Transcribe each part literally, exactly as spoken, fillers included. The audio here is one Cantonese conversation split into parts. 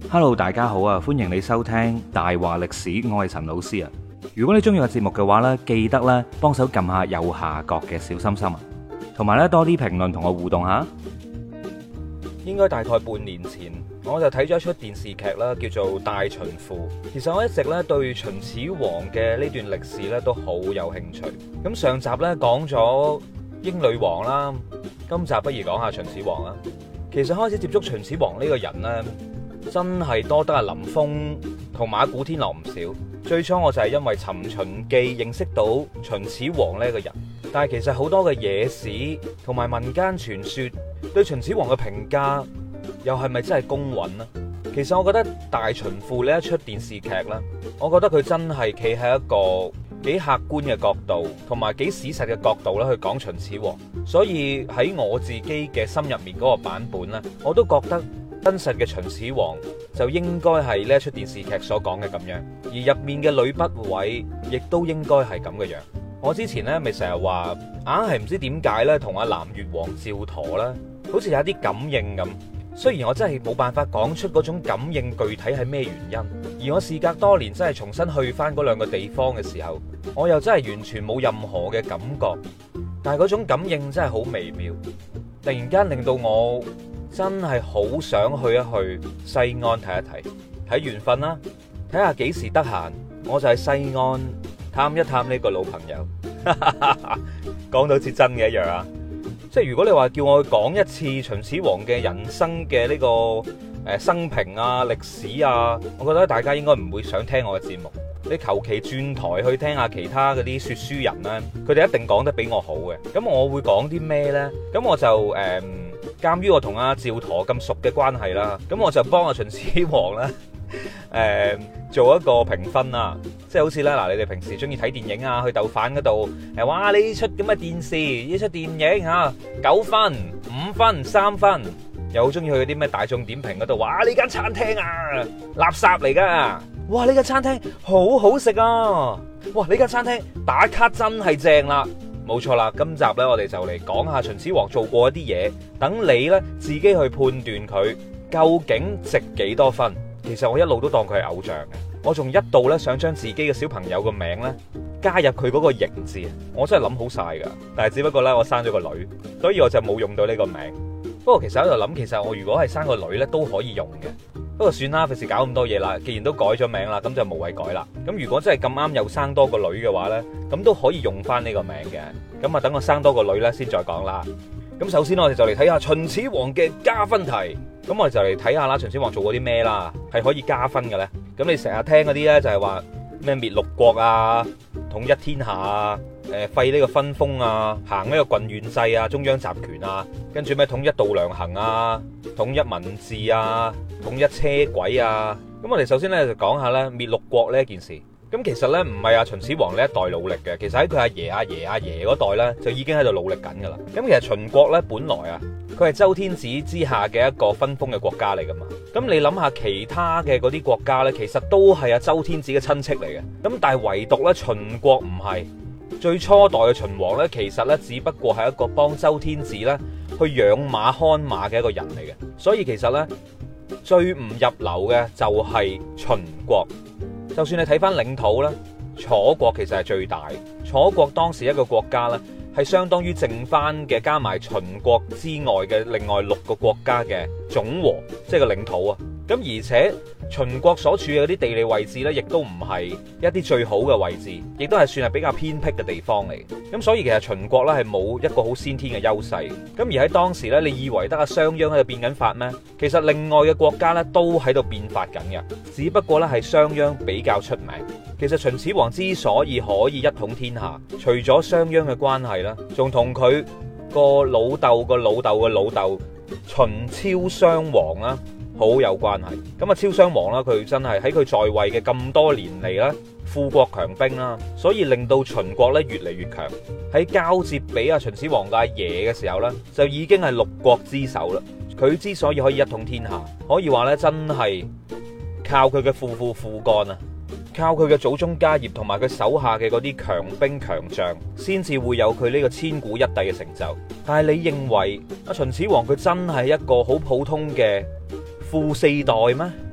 Hello，大家好啊！歡迎你收聽大話歷史，我係陳老師啊。如果你中意個節目嘅話呢，記得咧幫手撳下右下角嘅小心心啊，同埋咧多啲評論同我互動下。應該大概半年前，我就睇咗一出電視劇啦，叫做《大秦賦》。其實我一直咧對秦始皇嘅呢段歷史咧都好有興趣。咁上集咧講咗英女王啦，今集不如講下秦始皇啦。其實開始接觸秦始皇呢個人呢，真係多得阿林峰同馬古天樂唔少。最初我就係因為《尋秦記》認識到秦始皇呢個人，但係其實好多嘅野史同埋民間傳說對秦始皇嘅評價又係咪真係公允呢？其實我覺得《大秦賦》呢一出電視劇呢，我覺得佢真係企喺一個幾客觀嘅角度同埋幾史實嘅角度咧去講秦始皇，所以喺我自己嘅心入面嗰個版本呢，我都覺得真實嘅秦始皇就應該係呢一出電視劇所講嘅咁樣，而入面嘅呂不韋亦都應該係咁嘅樣。我之前呢咪成日話硬係唔知點解呢，同阿南越王趙佗呢好似有啲感應咁。雖然我真係冇辦法講出嗰種感應具體係咩原因，而我事隔多年真係重新去翻嗰兩個地方嘅時候，我又真係完全冇任何嘅感覺，但係嗰種感應真係好微妙，突然間令到我真係好想去一去西安睇一睇，睇緣分啦，睇下幾時得閒，我就喺西安探一探呢個老朋友。講到似真嘅一樣啊！即係如果你話叫我去講一次秦始皇嘅人生嘅呢個誒生平啊、歷史啊，我覺得大家應該唔會想聽我嘅節目。你求其轉台去聽下其他嗰啲說書人咧，佢哋一定講得比我好嘅。咁我會講啲咩呢？咁我就誒，鑒於我同阿趙佗咁熟嘅關係啦，咁我就幫阿秦始皇啦。誒、呃，做一個評分啦，即係好似咧嗱，你哋平時中意睇電影啊，去豆瓣嗰度誒，哇呢出咁嘅電視，呢出電影吓九分、五分、三分，又好中意去嗰啲咩大眾點評嗰度，哇呢間餐廳啊垃圾嚟噶，哇呢間餐廳好好食啊，哇呢間餐廳打卡真係正啦，冇錯啦。今集呢，我哋就嚟講下秦始皇做過一啲嘢，等你呢自己去判斷佢究竟值幾多分。其實我一路都當佢係偶像嘅，我仲一度咧想將自己嘅小朋友個名咧加入佢嗰個嬴字，我真係諗好晒噶。但係只不過咧我生咗個女，所以我就冇用到呢個名。不過其實喺度諗，其實我如果係生個女咧都可以用嘅。不過算啦，費事搞咁多嘢啦。既然都改咗名啦，咁就無謂改啦。咁如果真係咁啱又生多個女嘅話咧，咁都可以用翻呢個名嘅。咁啊等我生多個女咧先再講啦。咁首先我哋就嚟睇下秦始皇嘅加分題。咁我哋就嚟睇下啦，秦始皇做過啲咩啦，係可以加分嘅咧。咁你成日聽嗰啲咧就係話咩滅六國啊、統一天下啊、誒廢呢個分封啊、行呢個郡縣制啊、中央集權啊，跟住咩統一度量衡啊、統一文字啊、統一車軌啊。咁我哋首先咧就講下咧滅六國呢一件事。咁其實咧唔係阿秦始皇呢一代努力嘅，其實喺佢阿爺阿爺阿爺嗰代咧就已經喺度努力緊噶啦。咁其實秦國咧本來啊，佢係周天子之下嘅一個分封嘅國家嚟噶嘛。咁你諗下其他嘅嗰啲國家咧，其實都係阿周天子嘅親戚嚟嘅。咁但係唯獨咧秦國唔係。最初代嘅秦王咧，其實咧只不過係一個幫周天子咧去養馬看馬嘅一個人嚟嘅。所以其實咧最唔入流嘅就係秦國。就算你睇翻領土咧，楚國其實係最大。楚國當時一個國家咧，係相當於剩翻嘅加埋秦國之外嘅另外六個國家嘅總和，即係個領土啊。咁而且秦國所處嘅啲地理位置咧，亦都唔係一啲最好嘅位置，亦都係算係比較偏僻嘅地方嚟。咁所以其實秦國咧係冇一個好先天嘅優勢。咁而喺當時咧，你以為得阿商鞅喺度變緊法咩？其實另外嘅國家咧都喺度變法緊嘅，只不過咧係商鞅比較出名。其實秦始皇之所以可以一統天下，除咗商鞅嘅關係啦，仲同佢個老豆個老豆嘅老豆秦昭襄王啦好有關係。咁啊，昭襄王啦，佢真係喺佢在位嘅咁多年嚟啦，富國強兵啦，所以令到秦國咧越嚟越強。喺交接俾阿秦始皇嘅阿爺嘅時候咧，就已經係六國之首啦。佢之所以可以一統天下，可以話咧真係靠佢嘅父父父幹啊！靠佢嘅祖宗家業同埋佢手下嘅嗰啲強兵強將，先至會有佢呢個千古一帝嘅成就。但係你認為阿秦始皇佢真係一個好普通嘅富四代咩？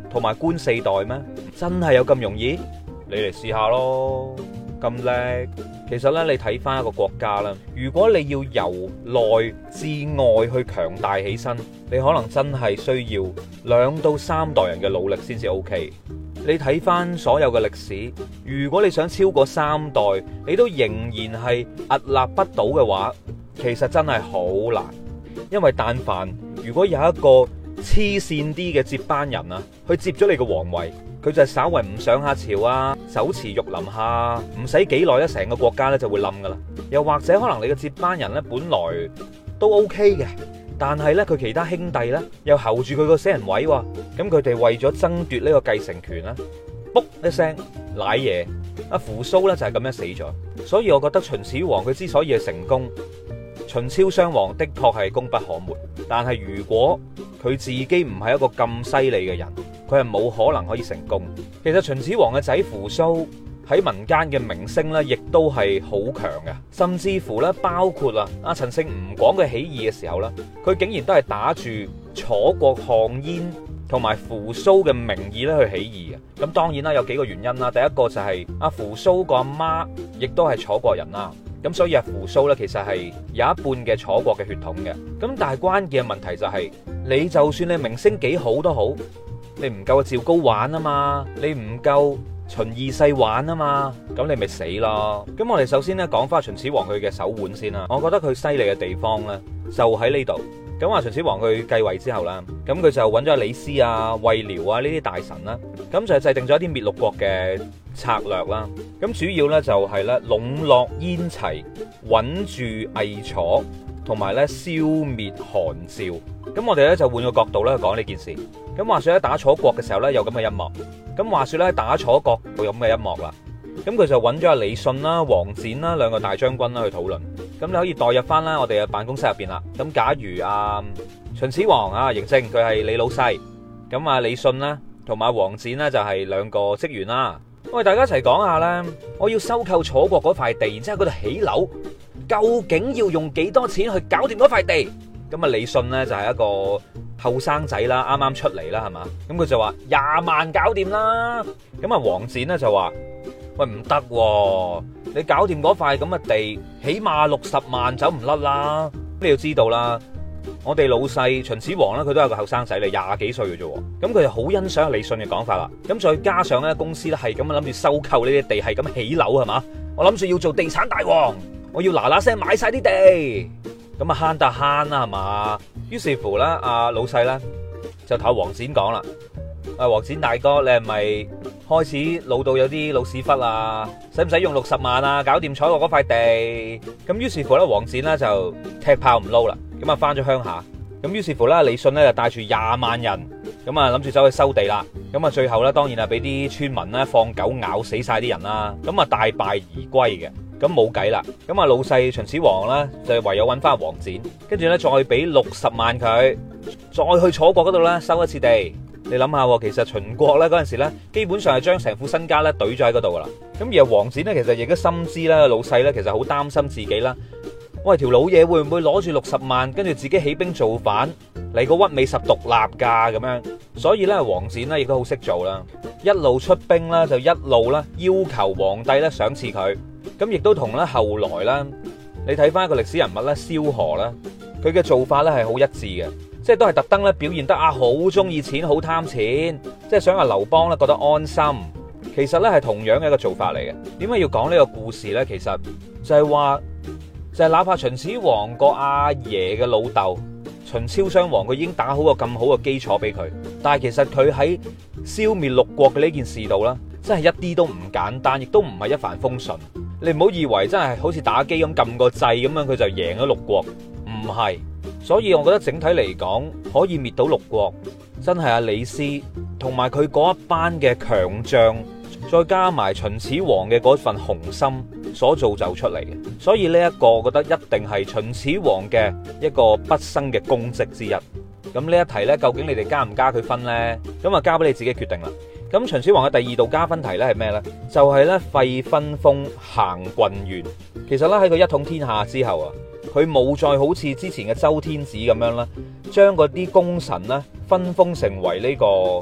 同埋官四代咩？真係有咁容易？你嚟試下咯，咁叻。其實咧，你睇翻一個國家啦，如果你要由內至外去強大起身，你可能真係需要兩到三代人嘅努力先至 OK。你睇翻所有嘅歷史，如果你想超過三代，你都仍然係屹立不倒嘅話，其實真係好難。因為但凡如果有一個黐線啲嘅接班人啊，去接咗你嘅皇位，佢就係稍為唔上下朝啊，手持玉林下，唔使幾耐咧，成個國家咧就會冧噶啦。又或者可能你嘅接班人咧本來都 OK 嘅，但係咧佢其他兄弟咧又候住佢個死人位喎，咁佢哋為咗爭奪呢個繼承權啦，卜一聲瀨嘢，阿扶蘇咧就係咁樣死咗。所以我覺得秦始皇佢之所以係成功，秦昭襄王的確係功不可沒，但係如果佢自己唔係一個咁犀利嘅人，佢係冇可能可以成功。其實秦始皇嘅仔扶蘇喺民間嘅名聲咧，亦都係好強嘅，甚至乎咧，包括啊阿陳勝吳廣嘅起義嘅時候咧，佢竟然都係打住楚國項燕同埋扶蘇嘅名義咧去起義嘅。咁當然啦，有幾個原因啦。第一個就係阿扶蘇個阿媽亦都係楚國人啦。咁所以阿扶蘇咧，其實係有一半嘅楚國嘅血統嘅。咁但係關鍵嘅問題就係，你就算你名聲幾好都好，你唔夠阿趙高玩啊嘛，你唔夠秦二世玩啊嘛，咁你咪死咯。咁我哋首先咧講翻秦始皇佢嘅手腕先啦。我覺得佢犀利嘅地方咧就喺呢度。咁話秦始皇佢繼位之後啦，咁佢就揾咗李斯啊、衛遼啊呢啲大臣啦，咁就制定咗一啲滅六國嘅策略啦。咁主要咧就係咧籠絡燕齊，穩住魏楚，同埋咧消滅韓趙。咁我哋咧就換個角度咧去講呢件事。咁話說喺打楚國嘅時候咧有咁嘅一幕。咁話說咧打楚國有咁嘅一幕啦。咁佢就揾咗阿李信啦、王翦啦兩個大將軍啦去討論。咁你可以代入翻啦我哋嘅辦公室入邊啦。咁假如啊秦始皇啊嬴政佢係你老細，咁啊李信啦同埋王翦呢就係兩個職員啦。我哋大家一齊講下啦，我要收購楚國嗰塊地，然之後嗰度起樓，究竟要用幾多錢去搞掂嗰塊地？咁啊李信呢就係一個後生仔啦，啱啱出嚟啦係嘛，咁佢就話廿萬搞掂啦。咁啊王翦呢就話喂唔得喎，你搞掂嗰塊咁嘅地，起碼六十萬走唔甩啦。你要知道啦，我哋老細秦始皇咧，佢都係個後生仔嚟，廿幾歲嘅啫。咁佢就好欣賞李信嘅講法啦。咁再加上咧，公司咧係咁樣諗住收購呢啲地，係咁起樓係嘛。我諗住要做地產大王，我要嗱嗱聲買晒啲地，咁啊慳得慳啦係嘛。於是乎咧，阿老細咧就同王翦講啦。啊，王翦大哥，你係咪開始老到有啲老屎忽啊？使唔使用六十萬啊？搞掂楚國嗰塊地？咁於是乎咧，王翦咧就踢炮唔撈啦，咁啊翻咗鄉下。咁於是乎咧，李信咧就帶住廿萬人，咁啊諗住走去收地啦。咁啊最後咧，當然係俾啲村民咧放狗咬死晒啲人啦。咁啊大敗而歸嘅，咁冇計啦。咁啊老細秦始皇咧就唯有揾翻王翦，跟住咧再俾六十萬佢，再去楚國嗰度咧收一次地。你諗下，其實秦國咧嗰陣時咧，基本上係將成副身家咧懟咗喺嗰度噶啦。咁而阿王翦咧，其實亦都深知啦，老細咧其實好擔心自己啦。喂，條老嘢會唔會攞住六十萬，跟住自己起兵造反，嚟個屈美十獨立噶咁樣？所以咧，王翦咧亦都好識做啦，一路出兵啦，就一路啦要求皇帝咧賞賜佢。咁亦都同咧後來啦，你睇翻一個歷史人物咧，蕭何啦，佢嘅做法咧係好一致嘅。即係都係特登咧表現得啊好中意錢，好貪錢，即係想阿劉邦咧覺得安心。其實咧係同樣嘅一個做法嚟嘅。點解要講呢個故事咧？其實就係話，就係哪怕秦始皇個阿爺嘅老豆秦昭襄王，佢已經打好個咁好嘅基礎俾佢，但係其實佢喺消滅六國嘅呢件事度啦，真係一啲都唔簡單，亦都唔係一帆風順。你唔好以為真係好似打機咁撳個掣咁樣，佢就贏咗六國，唔係。所以我覺得整體嚟講，可以滅到六國，真係阿李斯同埋佢嗰一班嘅強將，再加埋秦始皇嘅嗰份雄心所造就出嚟嘅。所以呢一個，我覺得一定係秦始皇嘅一個畢生嘅功績之一。咁呢一題呢，究竟你哋加唔加佢分呢？咁啊，交俾你自己決定啦。咁秦始皇嘅第二道加分題呢係咩呢？就係呢廢分封行郡縣。其實呢，喺佢一統天下之後啊，佢冇再好似之前嘅周天子咁樣啦，將嗰啲功臣呢分封成為呢個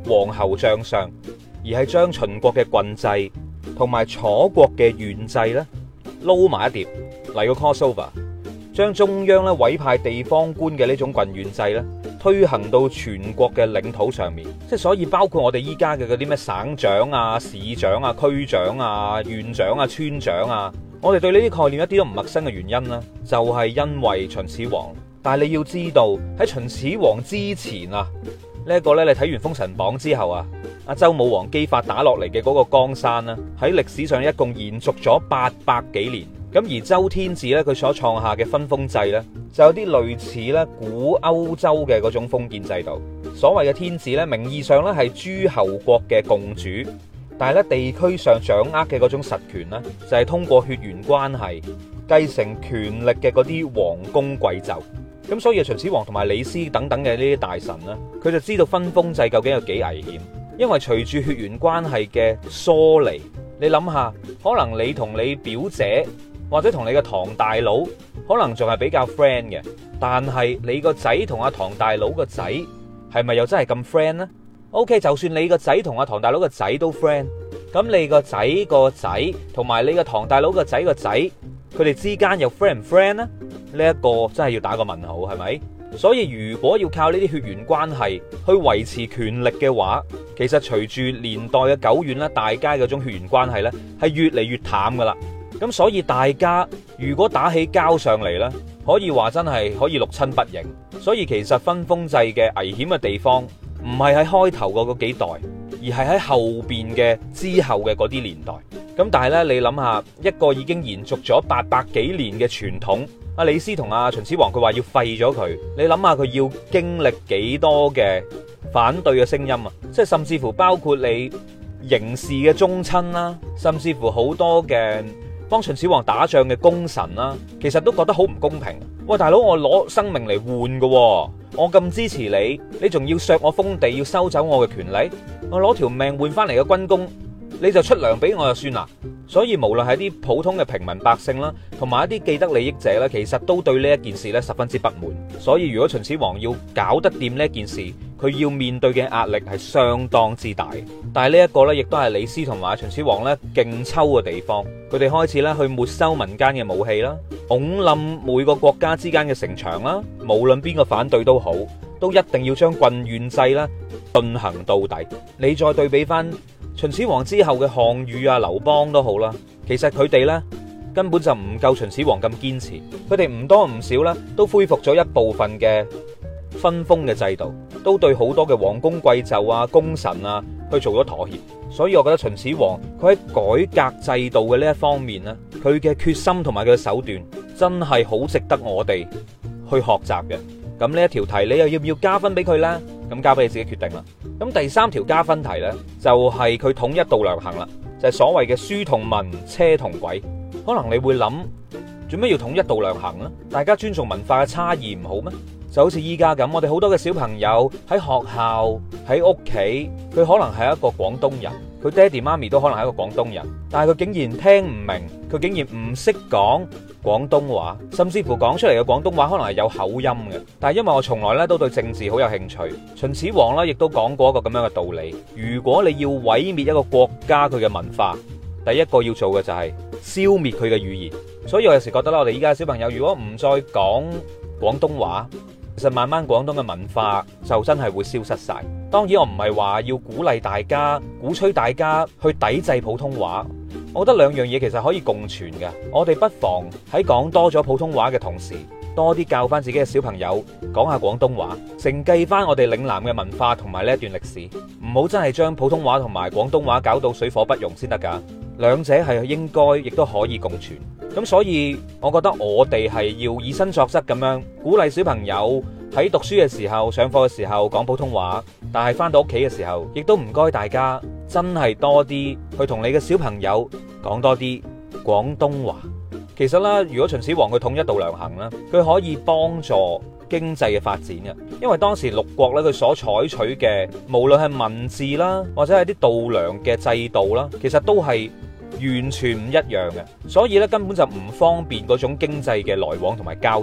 皇后將相，而係將秦國嘅郡制同埋楚國嘅縣制咧撈埋一碟嚟個 crossover，將中央咧委派地方官嘅呢種郡縣制咧推行到全國嘅領土上面。即係所以包括我哋依家嘅嗰啲咩省長啊、市長啊、區長啊、縣長啊、村長啊，我哋對呢啲概念一啲都唔陌生嘅原因啦，就係因為秦始皇。但係你要知道喺秦始皇之前啊，呢一個咧，你睇完《封神榜》之後啊，阿周武王姬發打落嚟嘅嗰個江山啦，喺歷史上一共延續咗八百幾年。咁而周天子咧，佢所創下嘅分封制咧，就有啲類似咧古歐洲嘅嗰種封建制度。所謂嘅天子咧，名義上咧係諸侯國嘅共主，但係咧地區上掌握嘅嗰種實權咧，就係通過血緣關係繼承權力嘅嗰啲王公貴胄。咁所以秦始皇同埋李斯等等嘅呢啲大臣咧，佢就知道分封制究竟有幾危險，因為隨住血緣關係嘅疏離，你諗下，可能你同你表姐或者同你個堂大佬可能仲係比較 friend 嘅，但係你個仔同阿堂大佬個仔係咪又真係咁 friend 呢？ OK， 就算你個仔同阿堂大佬個仔都 friend， 咁你個仔個仔同埋你個堂大佬個仔個仔，佢哋之間又 friend 唔 friend 呢？呢一個真係要打個問號，係咪？所以如果要靠呢啲血緣關係去維持權力嘅話，其實隨住年代嘅久遠咧，大家嗰種血緣關係呢係越嚟越淡噶啦。咁所以大家如果打起交上嚟呢，可以話真係可以六親不認。所以其實分封制嘅危險嘅地方唔係喺開頭嗰嗰幾代，而係喺後邊嘅之後嘅嗰啲年代。咁但係呢，你諗下一個已經延續咗八百幾年嘅傳統，阿李斯同阿秦始皇佢話要廢咗佢，你諗下佢要經歷幾多嘅反對嘅聲音啊！即係甚至乎包括你嬴氏嘅宗親啦，甚至乎好多嘅幫秦始皇打仗嘅功臣啦，其實都覺得好唔公平。喂，大佬，我攞生命嚟換㗎，我咁支持你，你仲要削我封地，要收走我嘅權利，我攞條命換翻嚟嘅軍功，你就出糧俾我就算啦。所以無論係啲普通嘅平民百姓啦，同埋一啲既得利益者咧，其實都對呢一件事咧十分之不滿。所以如果秦始皇要搞得掂呢一件事，佢要面對嘅壓力係相當之大。但係呢一個咧，亦都係李斯同埋秦始皇咧勁抽嘅地方。佢哋開始咧去沒收民間嘅武器啦，拱冧每個國家之間嘅城牆啦，無論邊個反對都好，都一定要將郡縣制咧進行到底。你再對比翻秦始皇之後嘅項羽啊、劉邦都好啦，其實佢哋呢根本就唔夠秦始皇咁堅持，佢哋唔多唔少呢都恢復咗一部分嘅分封嘅制度，都對好多嘅王公貴胄啊、功臣啊去做咗妥協。所以我覺得秦始皇佢喺改革制度嘅呢一方面呢，佢嘅決心同埋佢嘅手段真係好值得我哋去學習嘅。咁呢一條題你又要唔要加分俾佢呢？咁交俾你自己決定啦。咁第三條加分題呢，就係佢統一度量衡啦，就係所謂嘅書同文、車同軌。可能你會諗，做咩要統一度量衡呢？大家尊重文化嘅差異唔好咩？就好似依家咁，我哋好多嘅小朋友喺學校、喺屋企，佢可能係一個廣東人，佢爹哋媽咪都可能係一個廣東人，但係佢竟然聽唔明，佢竟然唔識講廣東話，甚至乎講出嚟嘅廣東話可能係有口音嘅。但係因為我從來咧都對政治好有興趣，秦始皇咧亦都講過一個咁樣嘅道理：如果你要毀滅一個國家佢嘅文化，第一個要做嘅就係消滅佢嘅語言。所以我有時覺得啦，我哋依家嘅小朋友如果唔再講廣東話，其實慢慢廣東嘅文化就真係會消失晒。當然我唔係話要鼓勵大家、鼓吹大家去抵制普通話，我覺得兩樣嘢其實可以共存嘅。我哋不妨喺講多咗普通話嘅同時，多啲教翻自己嘅小朋友講下廣東話，承繼翻我哋嶺南嘅文化同埋呢一段歷史，唔好真係將普通話同埋廣東話搞到水火不容先得㗎。兩者係應該亦都可以共存。咁所以我覺得我哋係要以身作則咁樣鼓勵小朋友喺讀書嘅時候、上課嘅時候講普通話，但係翻到屋企嘅時候，亦都唔該大家真係多啲去同你嘅小朋友講多啲廣東話。其實啦，如果秦始皇佢統一度量衡啦，佢可以幫助經濟嘅發展嘅，因為當時六國咧佢所採取嘅無論係文字啦，或者係啲度量嘅制度啦，其實都係完全唔一樣嘅，所以咧根本就唔方便嗰種經濟嘅來往同埋交易。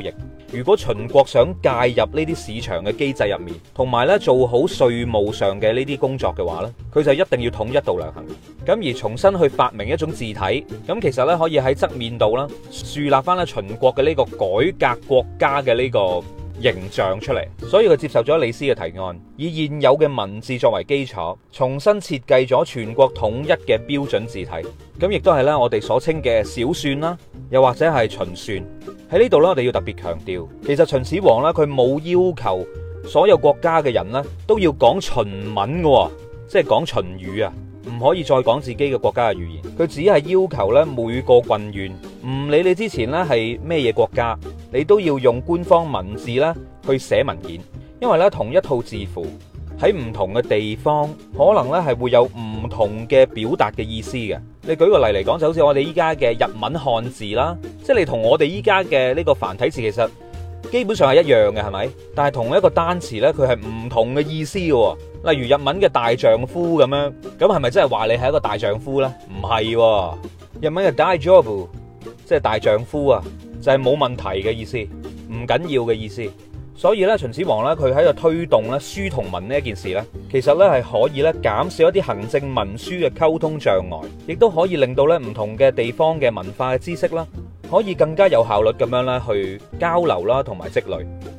如果秦國想介入呢啲市場嘅機制入面，同埋咧做好稅務上嘅呢啲工作嘅話咧，佢就一定要統一度量衡。咁而重新去發明一種字體，咁其實咧可以喺側面度啦，樹立翻咧秦國嘅呢個改革國家嘅呢個形象出嚟。所以佢接受咗李斯嘅提案，以現有嘅文字作為基礎，重新設計咗全國統一嘅標準字體。咁亦都係咧我哋所稱嘅小篆啦，又或者係秦篆。喺呢度咧，我哋要特別強調，其實秦始皇咧佢冇要求所有國家嘅人咧都要講秦文嘅，即係講秦語啊，唔可以再講自己嘅國家嘅語言。佢只係要求咧每個郡縣，唔理你之前咧係咩嘢國家，你都要用官方文字咧去寫文件，因為咧同一套字符喺唔同嘅地方，可能咧係會有唔同嘅表達嘅意思嘅。你舉個例嚟講，就好似我哋依家嘅日文漢字啦，即係你同我哋依家嘅呢個繁體字其實基本上係一樣嘅，係咪？但係同一個單詞呢，佢係唔同嘅意思嘅。例如日文嘅大丈夫咁樣，咁係咪真係話你係一個大丈夫呢？唔係，日文嘅大丈夫即係大丈夫啊，就係冇問題嘅意思，唔緊要嘅意思。所以咧，秦始皇咧，佢喺度推動咧書同文呢一件事咧，其實咧係可以咧減少一啲行政文書嘅溝通障礙，亦都可以令到咧唔同嘅地方嘅文化嘅知識啦，可以更加有效率咁樣咧去交流啦，同埋積累。